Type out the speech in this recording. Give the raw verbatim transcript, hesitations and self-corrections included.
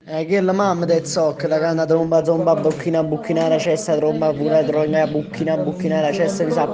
Eh, che la mamma del zoc, la canna tromba tromba, bucchina bucchina la cesta, tromba pure tromba bucchina bucchina la cesta, mi sa